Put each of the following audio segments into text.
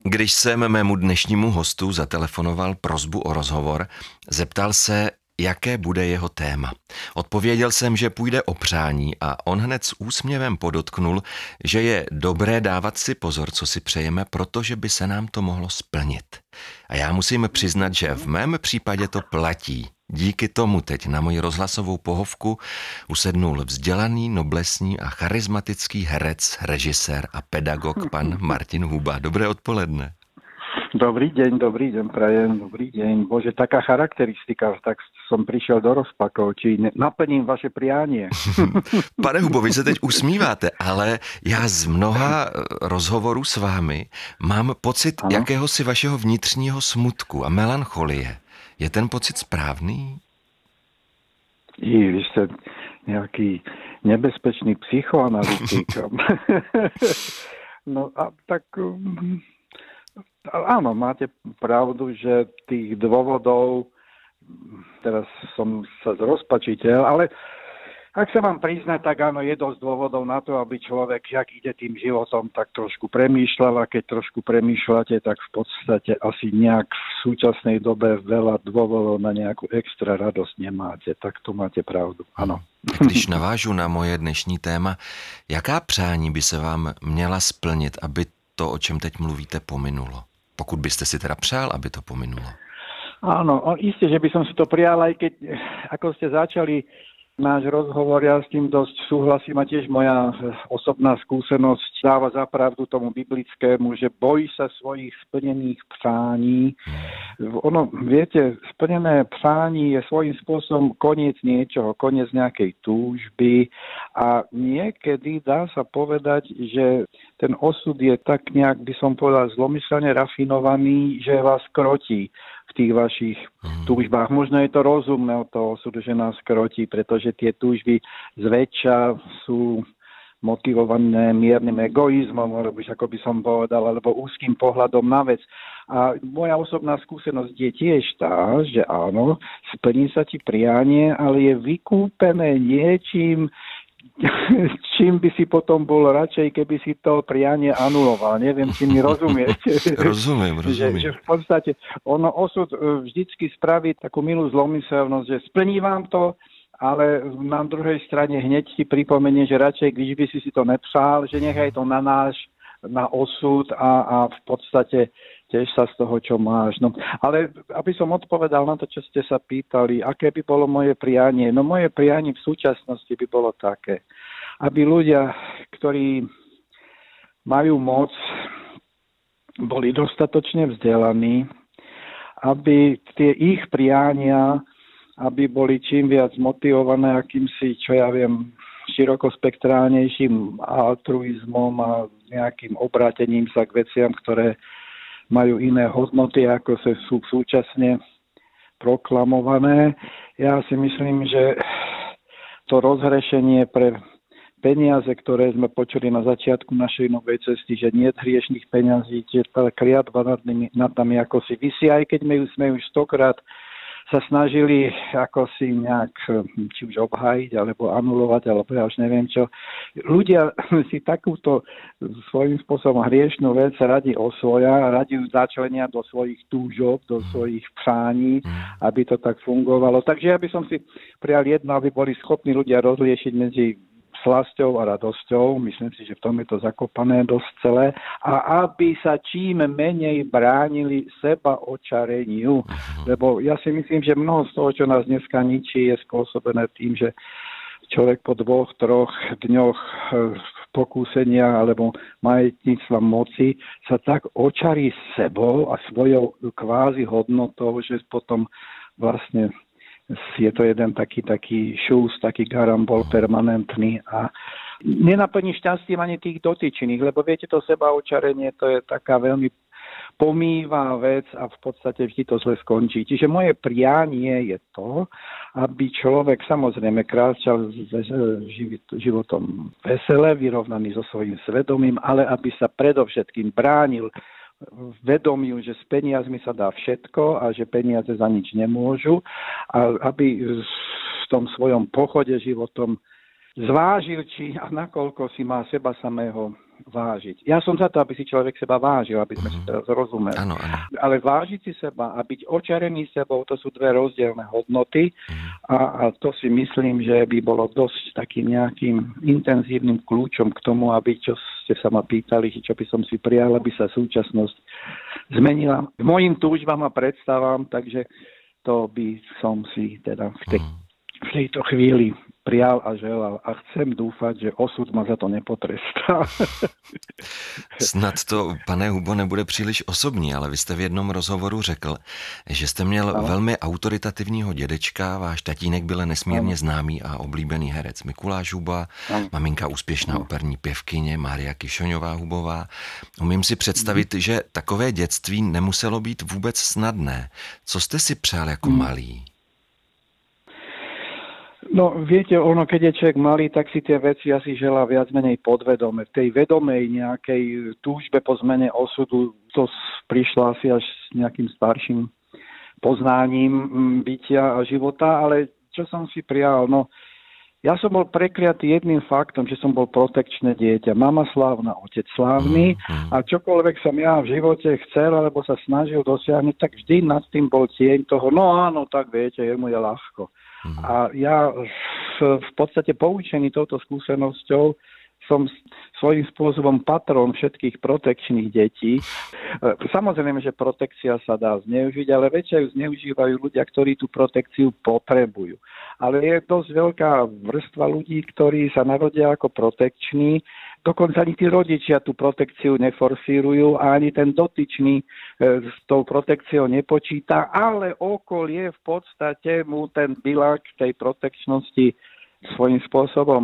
Když jsem mému dnešnímu hostu zatelefonoval prosbu o rozhovor, zeptal se, jaké bude jeho téma. Odpověděl jsem, že půjde o přání a on hned s úsměvem podotknul, že je dobré dávat si pozor, co si přejeme, protože by se nám to mohlo splnit. A já musím přiznat, že v mém případě to platí. Díky tomu teď na moji rozhlasovou pohovku usednul vzdělaný, noblesní a charismatický herec, režisér a pedagog pan Martin Huba. Dobré odpoledne. Dobrý deň, prajem, dobrý deň. Bože, taká charakteristika, tak som prišiel do rozpakov, či naplním vaše prianie. Pane Hubo, vy se teď usmíváte, ale já z mnoha rozhovorů s vámi mám pocit jakéhosi vašeho vnitřního smutku a melancholie. Je ten pocit správný? Vy ste nejaký nebezpečný psychoanalytik. No a tak áno, máte pravdu, že tých dôvodov, teraz som sa zrozpačiteľ, ale ak sa vám priznať, tak áno, je dosť dôvodov na to, aby človek, jak ide tým životom, tak trošku premýšľal, a keď trošku premýšľate, tak v podstate asi nejak v súčasnej dobe veľa dôvodov na nejakú extra radosť nemáte. Tak to máte pravdu, áno. Když navážu na moje dnešní téma, jaká přání by se vám měla splnit, aby to, o čem teď mluvíte, pominulo? Pokud byste si teda přál, aby to pominulo. Áno, isté, že by som si to prijal, aj keď, ako ste začali náš rozhovor, ja s tým dosť súhlasím a tiež moja osobná skúsenosť dáva za pravdu tomu biblickému, že boj sa svojich splnených přání. Ono, viete, splnené přání je svojím spôsobom koniec niečoho, koniec nejakej túžby a niekedy dá sa povedať, že ten osud je tak nejak, by som povedal, zlomyselne rafinovaný, že vás krotí v tých vašich túžbách. Možno je to rozumné od toho osudu, že nás krotí, pretože tie túžby zväčša sú motivované miernym egoizmom, alebo ako by som povedal, alebo úzkým pohľadom na vec. A moja osobná skúsenosť je tiež tá, že áno, splní sa ti prianie, ale je vykúpené niečím, čím by si potom bol radšej, keby si to prianie anuloval. Neviem, či mi rozumiete. Rozumiem. Že v podstate ono osud vždycky spraví takú milú zlomyselnosť, že splní vám to, ale na druhej strane hneď ti pripomenie, že radšej, když by si to nepřál, že nechaj to na osud a v podstate tiež sa z toho, čo máš. No, ale aby som odpovedal na to, čo ste sa pýtali, aké by bolo moje prianie? No moje prianie v súčasnosti by bolo také, aby ľudia, ktorí majú moc, boli dostatočne vzdelaní, aby tie ich priania, aby boli čím viac motivované akýmsi, čo ja viem, širokospektrálnejším altruizmom a nejakým obrátením sa k veciam, ktoré majú iné hodnoty, ako sú súčasne proklamované. Ja si myslím, že to rozhrešenie pre peniaze, ktoré sme počuli na začiatku našej novej cesty, že nie hriešných peňazí, že tá kliatba nad nami ako si visí, aj keď sme už stokrát sa snažili ako si nejak či už obhájiť, alebo anulovať, alebo ja už neviem čo. Ľudia si takúto svojím spôsobom hriešnú vec radi osvoja, radi ju začlenia do svojich túžob, do svojich přání, aby to tak fungovalo. Takže ja by som si prijal jedno, aby boli schopní ľudia rozliešiť medzi slasťou a radosťou. Myslím si, že v tom je to zakopané dosť celé. A aby sa čím menej bránili seba očareniu. Lebo ja si myslím, že mnoho z toho, čo nás dneska ničí, je spôsobené tým, že človek po 2-3 dňoch pokúsenia alebo majetníctva moci sa tak očarí sebou a svojou kvázi hodnotou, že potom vlastne je to jeden taký šús, taký garambol permanentný a nenaplní šťastím ani tých dotyčných, lebo viete, to sebaočarenie, to je taká veľmi pomývá vec a v podstate vždy to zle skončí. Čiže moje prianie je to, aby človek samozrejme kráčal životom vesele, vyrovnaný so svojím svedomím, ale aby sa predovšetkým bránil vedomiu, že s peniazmi sa dá všetko a že peniaze za nič nemôžu a aby v tom svojom pochode životom zvážil, či a nakoľko si má seba samého vážiť. Ja som za to, aby si človek seba vážil, aby sme si teraz rozumeli. Áno, áno. Ale vážiť si seba a byť očarený sebou, to sú dve rozdielne hodnoty a to si myslím, že by bolo dosť takým nejakým intenzívnym kľúčom k tomu, aby, čo ste sa ma pýtali, čo by som si prijal, aby sa súčasnosť zmenila k mojim túžbám a predstavám, takže to by som si teda v tejto chvíli prijal a želal a chcem dúfať, že osud ma za to nepotrestá. Snad to, pane Hubo, nebude příliš osobní, ale vy jste v jednom rozhovoru řekl, že jste měl velmi autoritativního dědečka, váš tatínek byl nesmírně známý a oblíbený herec Mikuláš Huba, maminka úspěšná operní pěvkyně Mária Kišoňová Hubová. Umím si představit, že takové dětství nemuselo být vůbec snadné. Co jste si přál jako malý? No, viete, ono, keď je človek malý, tak si tie veci asi želá viac menej podvedome. V tej vedomej nejakej túžbe po zmene osudu to prišla asi až s nejakým starším poznáním bytia a života, ale čo som si prijal, no, ja som bol prekliatý jedným faktom, že som bol protekčné dieťa. Mama slávna, otec slávny a čokoľvek som ja v živote chcel alebo sa snažil dosiahnuť, tak vždy nad tým bol tieň toho, no áno, tak viete, jemu je ľahko. A ja v podstate poučený touto skúsenosťou som svojím spôsobom patron všetkých protekčných detí. Samozrejme, že protekcia sa dá zneužiť, ale väčšie ju zneužívajú ľudia, ktorí tú protekciu potrebujú. Ale je dosť veľká vrstva ľudí, ktorí sa narodia ako protekční, dokonca ani tí rodičia tú protekciu neforsírujú a ani ten dotyčný s tou protekciou nepočíta, ale okolie v podstate mu ten bilák tej protekčnosti svojím spôsobom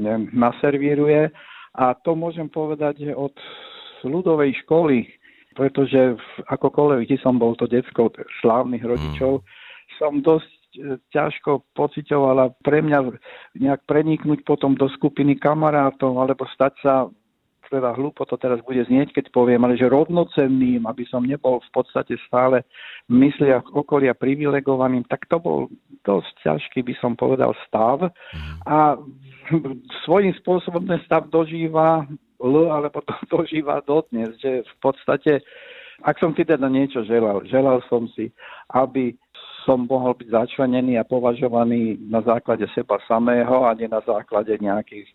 naservíruje. A to môžem povedať, že od ľudovej školy, pretože akokoľvek, kde som bol to decko slávnych rodičov, som dosť ťažko pociťovala pre mňa nejak preniknúť potom do skupiny kamarátov alebo stať sa, teda hlúpo to teraz bude znieť, keď poviem, ale že rovnocenným, aby som nebol v podstate stále v mysliach okolia privilegovaným, tak to bol dosť ťažký, by som povedal, stav. A svojím spôsobom ten stav dožíva alebo to dožíva dodnes, že v podstate, ak som si teda niečo želal som si, aby som mohol byť začlenený a považovaný na základe seba samého a nie na základe nejakých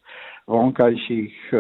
vonkajších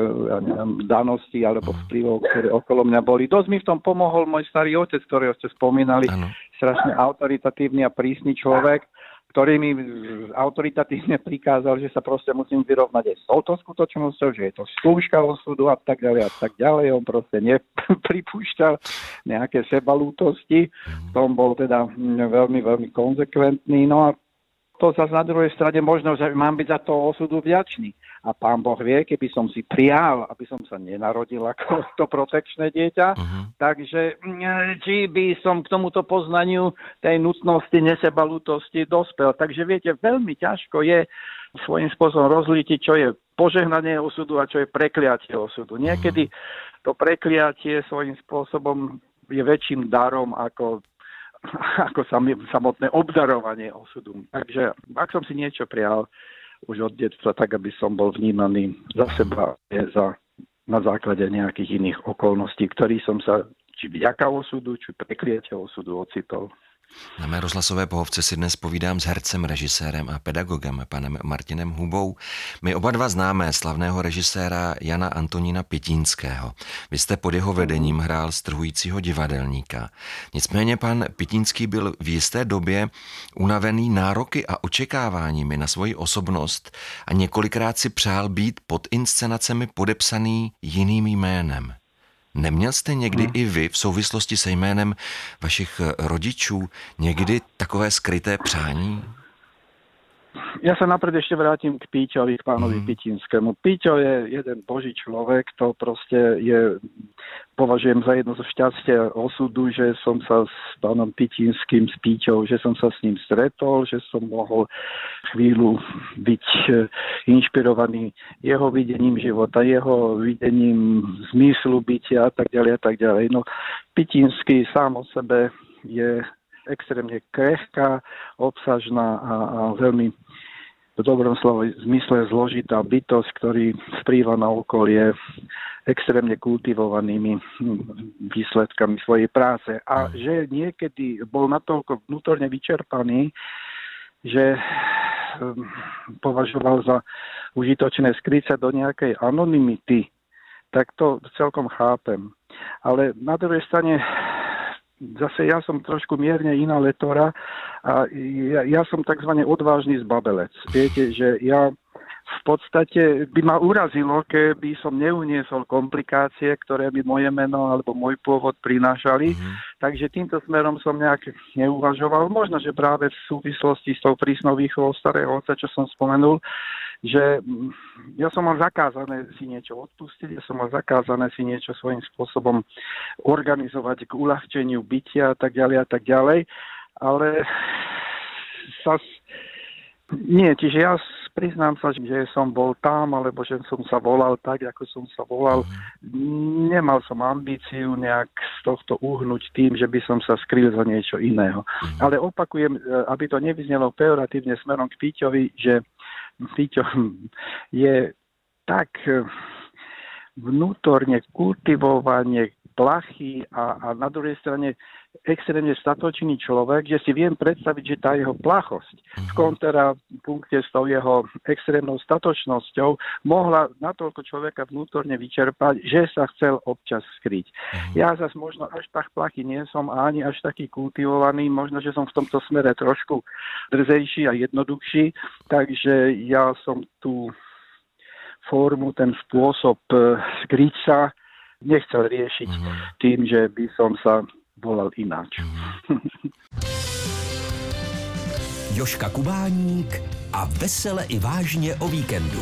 daností alebo vplyvov, ktoré okolo mňa boli. Dosť mi v tom pomohol môj starý otec, ktorého ste spomínali, strašne autoritatívny a prísny človek, ktorý mi autoritatívne prikázal, že sa proste musím vyrovnať aj s touto skutočnosťou, že je to skúška osudu a tak ďalej a tak ďalej. On proste nepripúšťal nejaké sebalútosti. V tom bol teda veľmi, veľmi konzekventný. No a to zase na druhej strane možno, že mám byť za toho osudu vďačný. A pán Boh vie, keby som si prijal, aby som sa nenarodil ako to protekčné dieťa, takže či by som k tomuto poznaniu tej nutnosti, nesebalútosti dospel. Takže viete, veľmi ťažko je svojím spôsobom rozlítiť, čo je požehnanie osudu a čo je prekliatie osudu. Niekedy to prekliatie svojím spôsobom je väčším darom ako samotné obdarovanie osudu. Takže ak som si niečo prijal už od detstva, tak aby som bol vnímaný za seba, na základe nejakých iných okolností, ktorých som sa či vďaka osudu, či prekliatia osudu ocitol. Na mé rozhlasové pohovce si dnes povídám s hercem, režisérem a pedagogem panem Martinem Hubou. My oba dva známe slavného režiséra Jana Antonína Pitínského. Vy jste pod jeho vedením hrál strhujícího divadelníka. Nicméně pan Pitínský byl v jisté době unavený nároky a očekáváními na svoji osobnost a několikrát si přál být pod inscenacemi podepsaný jiným jménem. Neměl jste někdy i vy v souvislosti se jménem vašich rodičů někdy takové skryté přání? Ja sa napred ešte vrátim k Píťovi, k pánovi Pitínskému. Píťo je jeden boží človek, to proste považujem za jedno zo šťastia osudu, že som sa s pánom Pitínským, s Píťou, že som sa s ním stretol, že som mohol chvíľu byť inšpirovaný jeho videním života, jeho videním zmyslu bytia a tak ďalej a tak ďalej. No, Pitínsky sám o sebe je extrémne krehká, obsažná a veľmi v dobrom slovo zmysle zložitá bytosť, ktorý vplýva na okolie extrémne kultivovanými výsledkami svojej práce. A že niekedy bol natoľko vnútorne vyčerpaný, že považoval za užitočné skryť sa do nejakej anonymity, tak to celkom chápem. Ale na druhej strane zase ja som trošku mierne iná letora a ja som takzvaný odvážny zbabelec. Viete, že ja v podstate by ma urazilo, keby som neuniesol komplikácie, ktoré by moje meno alebo môj pôvod prinášali. Takže týmto smerom som nejak neuvažoval. Možno, že práve v súvislosti s tou prísnou výchovou starého otca, čo som spomenul, že ja som mal zakázané si niečo odpustiť, ja som mal zakázané si niečo svojím spôsobom organizovať k uľahčeniu bytia a tak ďalej. Ale nie, čiže ja priznám sa, že som bol tam, alebo že som sa volal tak, ako som sa volal. Nemal som ambíciu nejak z tohto uhnúť tým, že by som sa skryl za niečo iného. Ale opakujem, aby to nevyznelo pejoratívne smerom k Píťovi, že Píťo je tak vnútorne kultivovanie plachý a na druhej strane extrémne statočný človek, že si viem predstaviť, že tá jeho plachosť v kontrapunkte s tou jeho extrémnou statočnosťou mohla natoľko človeka vnútorne vyčerpať, že sa chcel občas skryť. Ja zase možno až tak plachý nie som a ani až taký kultivovaný, možno, že som v tomto smere trošku drzejší a jednoduchší, takže ja som tú formu, ten spôsob skryť sa nechcel riešiť tým, že by som sa volal ináč. Jožka Kubáník a vesele i vážně o víkendu.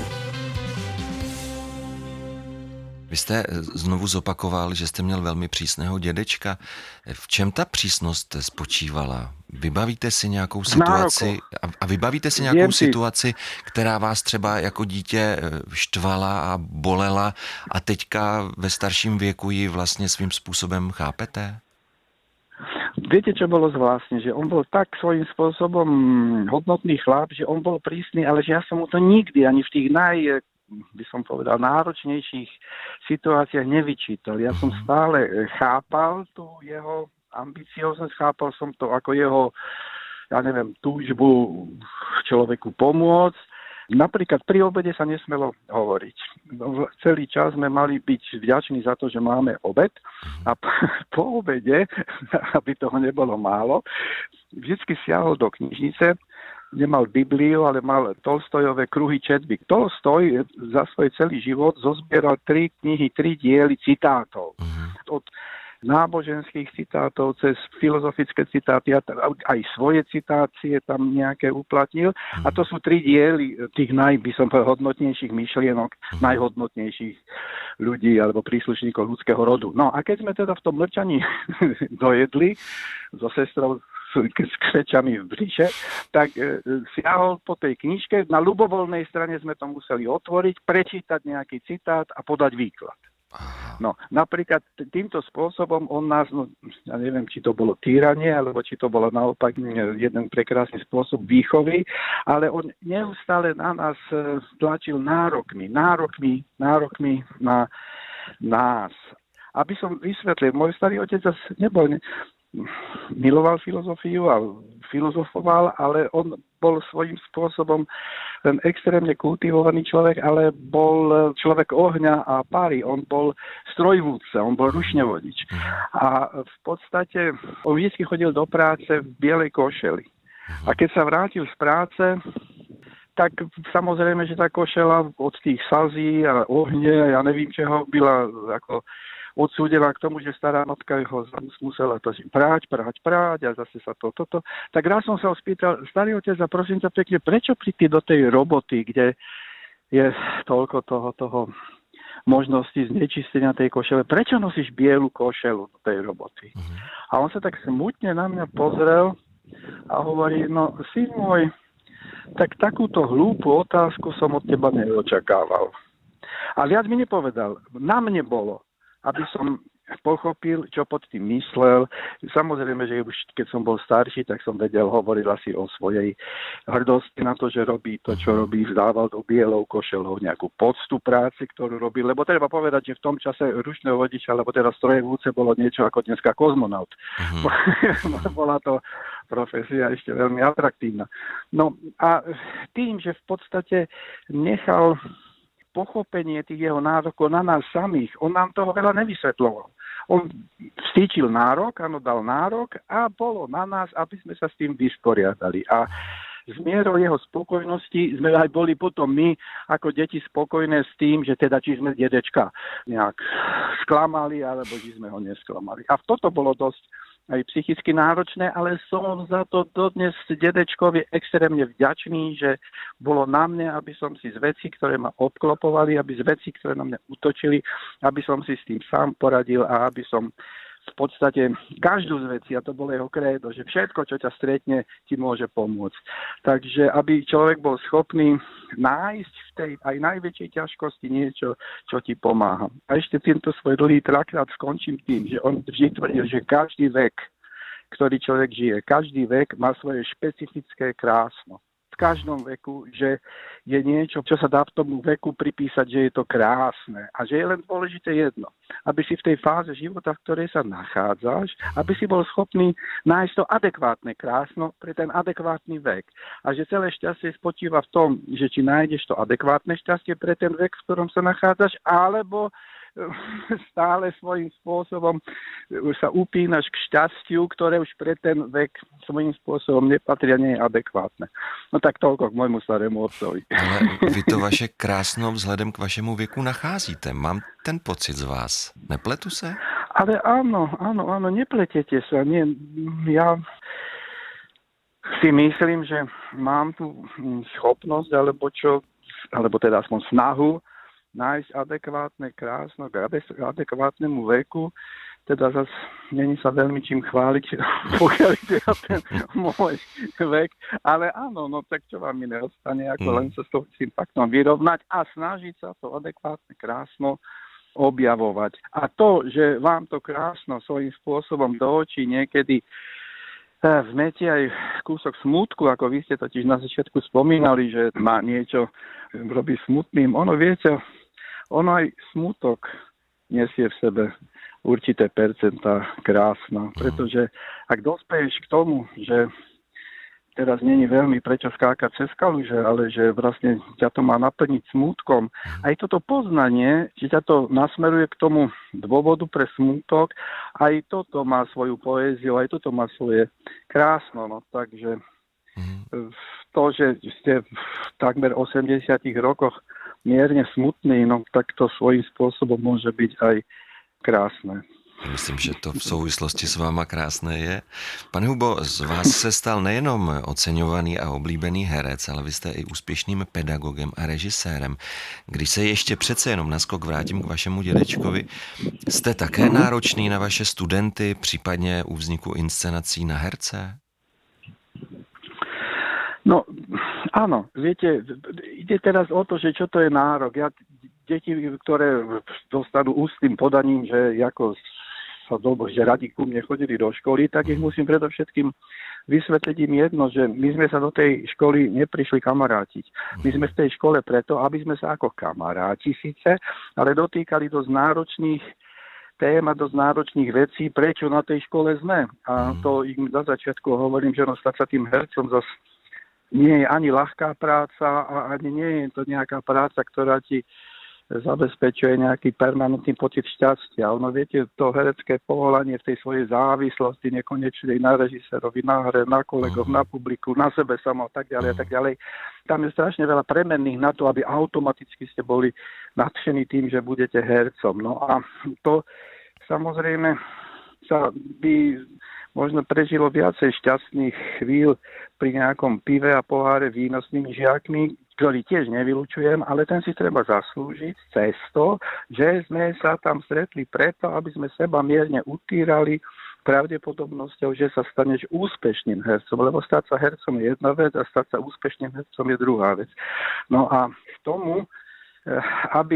Vy jste znovu zopakoval, že jste měl velmi přísného dědečka. V čem ta přísnost spočívala? Vybavíte si nějakou situaci a vybavíte si nějakou situaci, která vás třeba jako dítě štvala a bolela a teďka ve starším věku ji vlastně svým způsobem chápete? Viete, čo bolo zvláštne? Že on bol tak svojím spôsobom hodnotný chlap, že on bol prísny, ale že ja som mu to nikdy ani v tých by som povedal, náročnejších situáciách nevyčítal. Ja som stále chápal tú jeho ambicioznosť, chápal som to ako jeho, túžbu človeku pomôcť. Napríklad pri obede sa nesmelo hovoriť. Celý čas sme mali byť vďační za to, že máme obed a po obede, aby toho nebolo málo, vždycky siahol do knižnice, nemal Bibliu, ale mal Tolstojové kruhy četby. Tolstoj za svoj celý život zozbieral 3 knihy, 3 diely citátov. Od náboženských citátov cez filozofické citáty, aj svoje citácie tam nejaké uplatnil. A to sú 3 diely tých hodnotnejších myšlienok, najhodnotnejších ľudí alebo príslušníkov ľudského rodu. No a keď sme teda v tom mlčaní dojedli so sestrou s křečami v břiše, tak siahol po tej knižke. Na ľubovoľnej strane sme to museli otvoriť, prečítať nejaký citát a podať výklad. No, napríklad týmto spôsobom on nás, ja neviem, či to bolo týranie, alebo či to bolo naopak jeden prekrásny spôsob výchovy, ale on neustále na nás tlačil nárokmi na nás. Aby som vysvetlil, môj starý otec zase miloval filozofiu a filozofoval, ale on bol svojím spôsobom ten extrémne kultivovaný človek, ale bol človek ohňa a páry. On bol strojvúdca, on bol rušňovodič. A v podstate on vždy chodil do práce v bielej košeli. A keď sa vrátil z práce, tak samozrejme, že tá košela od tých slzí a ohne, ja nevím čeho, byla ako odsúdená k tomu, že stará matka ho musela to práť a zase sa toto. Tak raz som sa ho spýtal, starý otec, a prosím ťa pekne, prečo príti do tej roboty, kde je toľko toho možnosti znečistenia tej košele, prečo nosíš bielu košelu do tej roboty? A on sa tak smutne na mňa pozrel a hovorí, no syn môj, tak takúto hlúpu otázku som od teba neočakával. A viac mi nepovedal. Na mne bolo, aby som pochopil, čo pod tým myslel. Samozrejme, že už keď som bol starší, tak som hovoril asi o svojej hrdosti na to, že robí to, čo robí, vzdával do bielou košelou nejakú poctu práci, ktorú robil, lebo treba povedať, že v tom čase ručného vodiča, alebo teda strojevúce bolo niečo ako dneska kozmonaut. Bola to profesia ešte veľmi atraktívna. No a tým, že v podstate nechal pochopenie tých jeho nárokov na nás samých, on nám toho veľa nevysvetľoval. On vstýčil nárok, áno, dal nárok a bolo na nás, aby sme sa s tým vysporiadali. A s mierou jeho spokojnosti sme aj boli potom my ako deti spokojné s tým, že teda či sme dedečka nejak sklamali, alebo či sme ho nesklamali. A toto bolo dosť aj psychicky náročné, ale som za to dodnes dedečkovi extrémne vďačný, že bolo na mne, aby som si z vecí, ktoré ma obklopovali, aby z vecí, ktoré na mňa útočili, aby som si s tým sám poradil a aby som v podstate každú z vecí, a to bolo jeho krédo, že všetko, čo ťa stretne, ti môže pomôcť. Takže aby človek bol schopný nájsť v tej aj najväčšej ťažkosti niečo, čo ti pomáha. A ešte tento svoj dlhý trakrát skončím tým, že on vždy tvrdil, že každý vek, ktorý človek žije, každý vek má svoje špecifické krásno. V každom veku, že je niečo, čo sa dá v tomu veku pripísať, že je to krásne a že je len dôležité jedno. Aby si v tej fáze života, v ktorej sa nachádzaš, aby si bol schopný nájsť to adekvátne krásno pre ten adekvátny vek. A že celé šťastie spočíva v tom, že či nájdeš to adekvátne šťastie pre ten vek, v ktorom sa nachádzaš, alebo stále svojím spôsobom sa upínaš k šťastiu, ktoré už pre ten vek svojím spôsobom nepatria, nie je adekvátne. No tak toľko k môjmu starému otcovi. Ale vy to vaše krásno vzhledem k vašemu věku nacházíte. Mám ten pocit z vás. Nepletu se? Ale áno, nepletete sa. Nie, ja si myslím, že mám tu schopnosť, alebo teda aspoň snahu nájsť adekvátne krásno k adekvátnemu veku, teda zase není sa veľmi čím chváliť, pokiaľ ide o ten môj vek, ale áno, no tak čo vám iné ostane, ako len sa s tým faktom vyrovnať a snažiť sa to adekvátne krásno objavovať. A to, že vám to krásno svojím spôsobom do očí niekedy vmetie aj kúsok smútku, ako vy ste totiž na začiatku spomínali, že má niečo robí smutným. Ono aj smútok nesie v sebe určité percentá krásna, pretože ak dospeješ k tomu, že teraz nie je veľmi prečo skákať cez kaluže, ale že vlastne ťa to má naplniť smútkom. Aj toto poznanie, že ťa to nasmeruje k tomu dôvodu pre smútok, aj toto má svoju poéziu, aj toto má svoje krásno. No, takže to, že ste v takmer 80 rokoch mierne smutný, no tak to svojím spôsobom môže byť aj krásne. Myslím, že to v souvislosti s váma krásné je. Pane Hubo, z vás se stal nejenom oceňovaný a oblíbený herec, ale vy jste i úspěšným pedagogem a režisérem. Když se ještě přece jenom naskok vrátím k vašemu dědečkovi, jste také náročný na vaše studenty, případně u vzniku inscenací na herce? No, áno, viete, ide teraz o to, že čo to je nárok. Deti, ktoré dostanú ústnym podaním, že ako že radi ku mne chodili do školy, tak ich musím predovšetkým vysvetliť im jedno, že my sme sa do tej školy neprišli kamarátiť. My sme v tej škole preto, aby sme sa ako kamaráti síce, ale dotýkali dosť náročných tém a dosť náročných vecí, prečo na tej škole sme. A to im za začiatku hovorím, že stať sa tým hercom zase nie je ani ľahká práca a ani nie je to nejaká práca, ktorá ti zabezpečuje nejaký permanentný pocit šťastia. Ono, viete, to herecké povolanie v tej svojej závislosti nekonečnej na režisérovi, na hre, na kolegov, na publiku, na sebe samo a tak ďalej. Tam je strašne veľa premenných na to, aby automaticky ste boli nadšení tým, že budete hercom. No a to samozrejme sa by možno prežilo viacej šťastných chvíľ pri nejakom pive a poháre vína s tými žiakmi, ktorý tiež nevylučujem, ale ten si treba zaslúžiť cez to, že sme sa tam stretli preto, aby sme seba mierne utírali pravdepodobnosťou, že sa staneš úspešným hercom, lebo stať sa hercom je jedna vec a stať sa úspešným hercom je druhá vec. No a k tomu, aby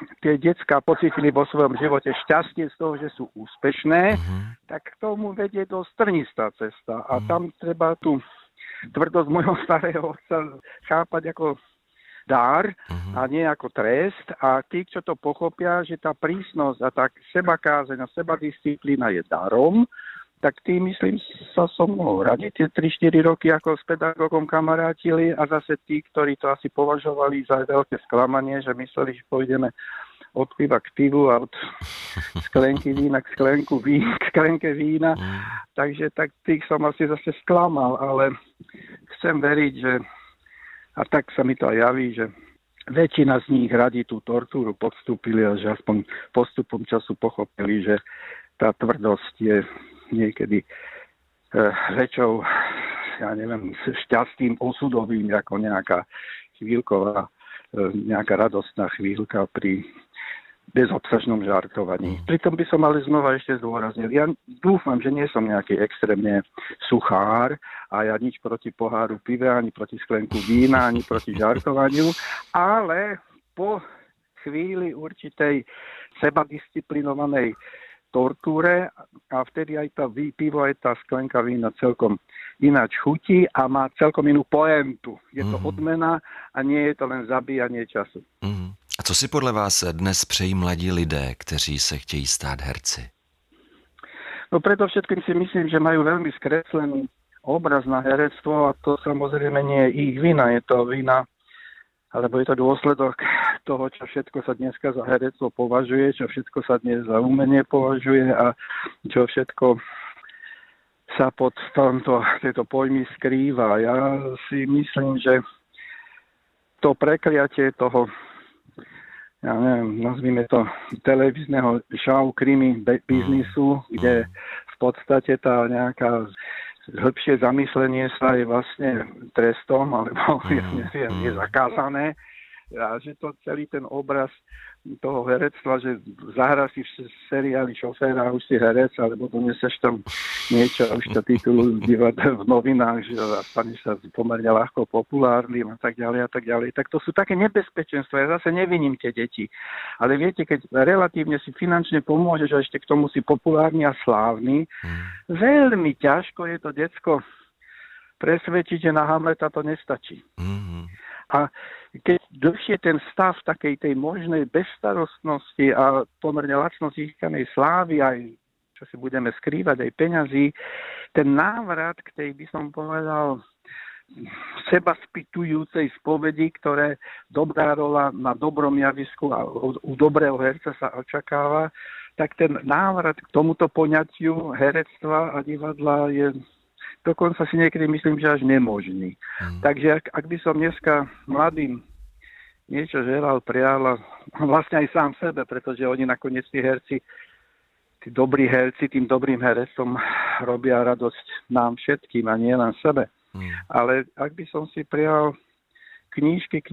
tie decká pocítili vo svojom živote šťastie z toho, že sú úspešné, tak k tomu vedie dosť trnistá cesta. A tam treba tú tvrdosť môjho starého otca chápať ako dar a nie ako trest. A tí, čo to pochopia, že tá prísnosť a tá sebakázeň a sebadisciplína je darom, tak tí, myslím, sa so mnou radi tie 3-4 roky ako s pedagógom kamarátili a zase tí, ktorí to asi považovali za veľké sklamanie, že mysleli, že pôjdeme od piva k pivu a od sklenky vína k sklenke vína. Takže tak tých som asi zase sklamal, ale chcem veriť, že a tak sa mi to aj javí, že väčšina z nich radi tú tortúru podstúpili a že aspoň postupom času pochopili, že tá tvrdosť je niekedy väčšou, ja neviem, šťastným osudovým, ako nejaká chvíľková, nejaká radostná chvíľka pri bezobsažnom žartovaní. Pritom by som ale znova ešte zdôraznil. Ja dúfam, že nie som nejaký extrémne suchár a ja nič proti poháru piva, ani proti sklenku vína, ani proti žartovaniu, ale po chvíli určitej sebadisciplinovanej tortúre a vtedy aj tá pivo, aj tá sklenka vína celkom ináč chutí a má celkom inú poentu. Je to odmena a nie je to len zabíjanie času. A co si podle vás dnes přejí mladí lidé, kteří se chtějí stát herci? No predovšetkým si myslím, že majú veľmi skreslený obraz na herectvo a to samozrejme nie je ich vina. Je to vina, alebo je to dôsledok toho, čo všetko sa dneska za herectvo považuje, čo všetko sa dnes za umenie považuje a čo všetko sa pod tieto pojmy skrýva. Ja si myslím, že to prekliatie toho, ja neviem, nazvime to televízneho show krimi biznisu, kde v podstate tá nejaká hĺbšie zamyslenie sa je vlastne trestom, alebo ja neviem, je zakázané. A že to celý ten obraz toho herectva, že zahra si v seriáli šoféra, už si herec, alebo doneseš tam niečo, už to titulujú v novinách, že stane sa pomerne ľahko populárnym a tak ďalej a tak ďalej. Tak to sú také nebezpečenstva. Ja zase neviním tie deti. Ale viete, keď relatívne si finančne pomôžeš a ešte k tomu si populárny a slávny, veľmi ťažko je to decko presvedčiť, že na Hamleta to nestačí. A keď dlhšie ten stav takej tej možnej bezstarostnosti a pomerne lacno získanej slávy, aj čo si budeme skrývať, aj peňazí, ten návrat k tej, by som povedal, seba spýtujúcej spovedi, ktoré dobrá rola na dobrom javisku a u dobrého herca sa očakáva, tak ten návrat k tomuto poňatiu herectva a divadla je dokonca si niekedy myslím, že až nemožný. Takže ak by som dneska mladým niečo želal, prial, vlastne aj sám sebe, pretože oni nakoniec tí herci, tí dobrí herci, tým dobrým herecom robia radosť nám všetkým a nie len sebe. Ale ak by som si prial knížky,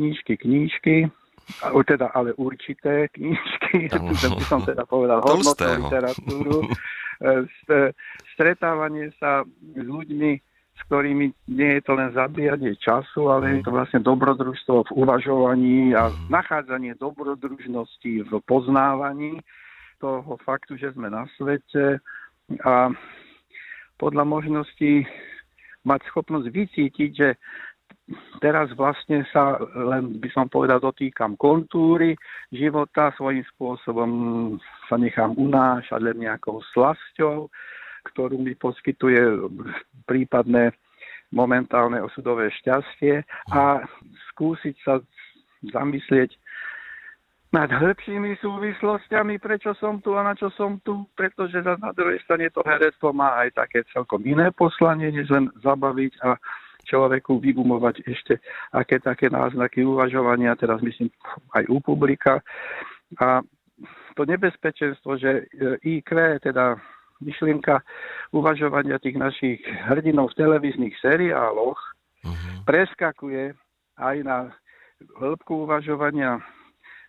ale určité knížky, by som teda povedal hodnotnú literatúru, stretávanie sa s ľuďmi, s ktorými nie je to len zabíjanie času, ale je to vlastne dobrodružstvo v uvažovaní a nachádzanie dobrodružnosti v poznávaní toho faktu, že sme na svete a podľa možností mať schopnosť vycítiť, že teraz vlastne sa len, by som povedal, dotýkam kontúry života, svojím spôsobom sa nechám unášať len nejakou slasťou, ktorú mi poskytuje prípadné momentálne osudové šťastie a skúsiť sa zamyslieť nad hĺbšími súvislostiami, prečo som tu a na čo som tu, pretože na druhej strane to herectvo má aj také celkom iné poslanie, než len zabaviť a človeku vygumovať ešte aké také náznaky uvažovania, teraz myslím aj u publika. A to nebezpečenstvo, že IQ, teda myšlienka uvažovania tých našich hrdinov v televíznych seriáloch preskakuje aj na hĺbku uvažovania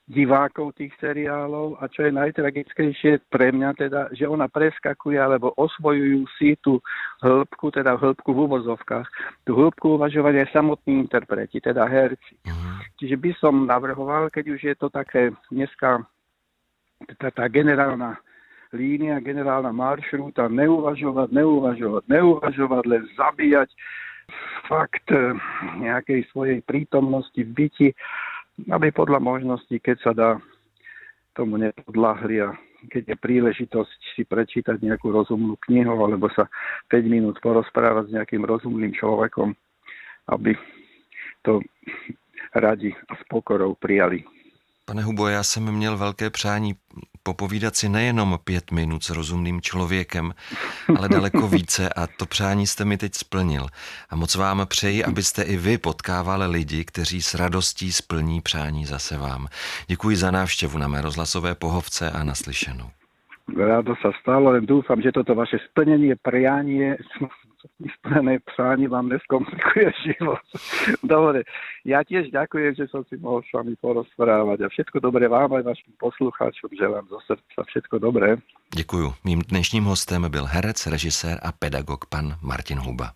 divákov tých seriálov a čo je najtragickejšie pre mňa teda, že ona preskakuje alebo osvojujú si tú hĺbku, teda hĺbku v úvozovkách, tú hĺbku uvažovania samotní interpreti, teda herci. Čiže by som navrhoval, keď už je to také dneska tá generálna línia, generálna maršrúta, neuvažovať, len zabíjať fakt nejakej svojej prítomnosti v byti, aby podľa možností, keď sa dá, tomu nepodľahli a keď je príležitosť si prečítať nejakú rozumnú knihu alebo sa 5 minút porozprávať s nejakým rozumným človekom, aby to radi a s pokorou prijali. Pane Hubo, já jsem měl velké přání popovídat si nejenom 5 minut s rozumným člověkem, ale daleko více a to přání jste mi teď splnil. A moc vám přeji, abyste i vy potkávali lidi, kteří s radostí splní přání zase vám. Děkuji za návštěvu na mé rozhlasové pohovce a naslyšenou. Rádo sa stalo, len dúfam, že toto vaše splnenie, prianie, splnené přání vám neskomplikuje život. Dobre, ja tiež ďakujem, že som si mohol s vami porozprávať a všetko dobré vám aj vašim poslucháčom, želám zo srdca všetko dobré. Děkuju. Mým dnešním hostem byl herec, režisér a pedagog pan Martin Huba.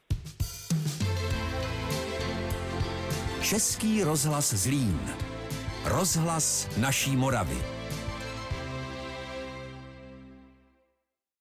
Český rozhlas Zlín. Rozhlas naší Moravy.